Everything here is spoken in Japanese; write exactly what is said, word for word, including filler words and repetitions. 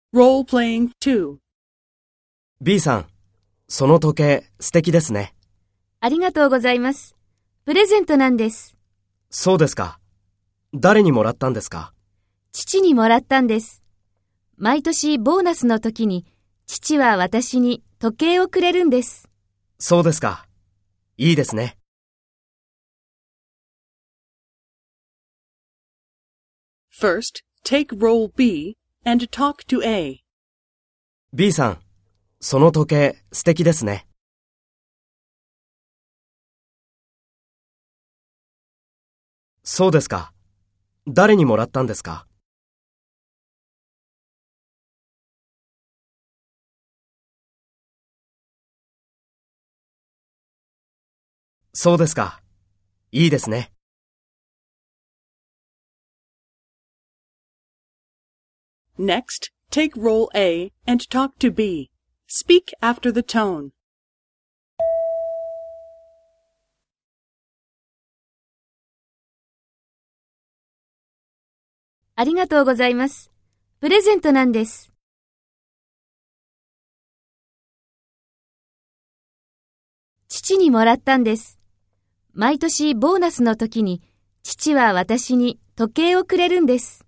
Role-playing two. B さん、その時計素敵ですね。 ありがとうございます。プレゼントなんです。 そうですか。誰にもらったんですか？ 父にもらったんです。毎年ボーナスの時に父は私に時計をくれるんです。 そうですか。いいですね。 First, take role B and talk to A. B さん、その時計素敵ですね。そうですか。誰にもらったんですか？そうですか。いいですね。 Next, take role A and talk to B. Speak after the tone. ありがとうございます。プレゼントなんです。父にもらったんです。毎年ボーナスの時に父は私に時計をくれるんです。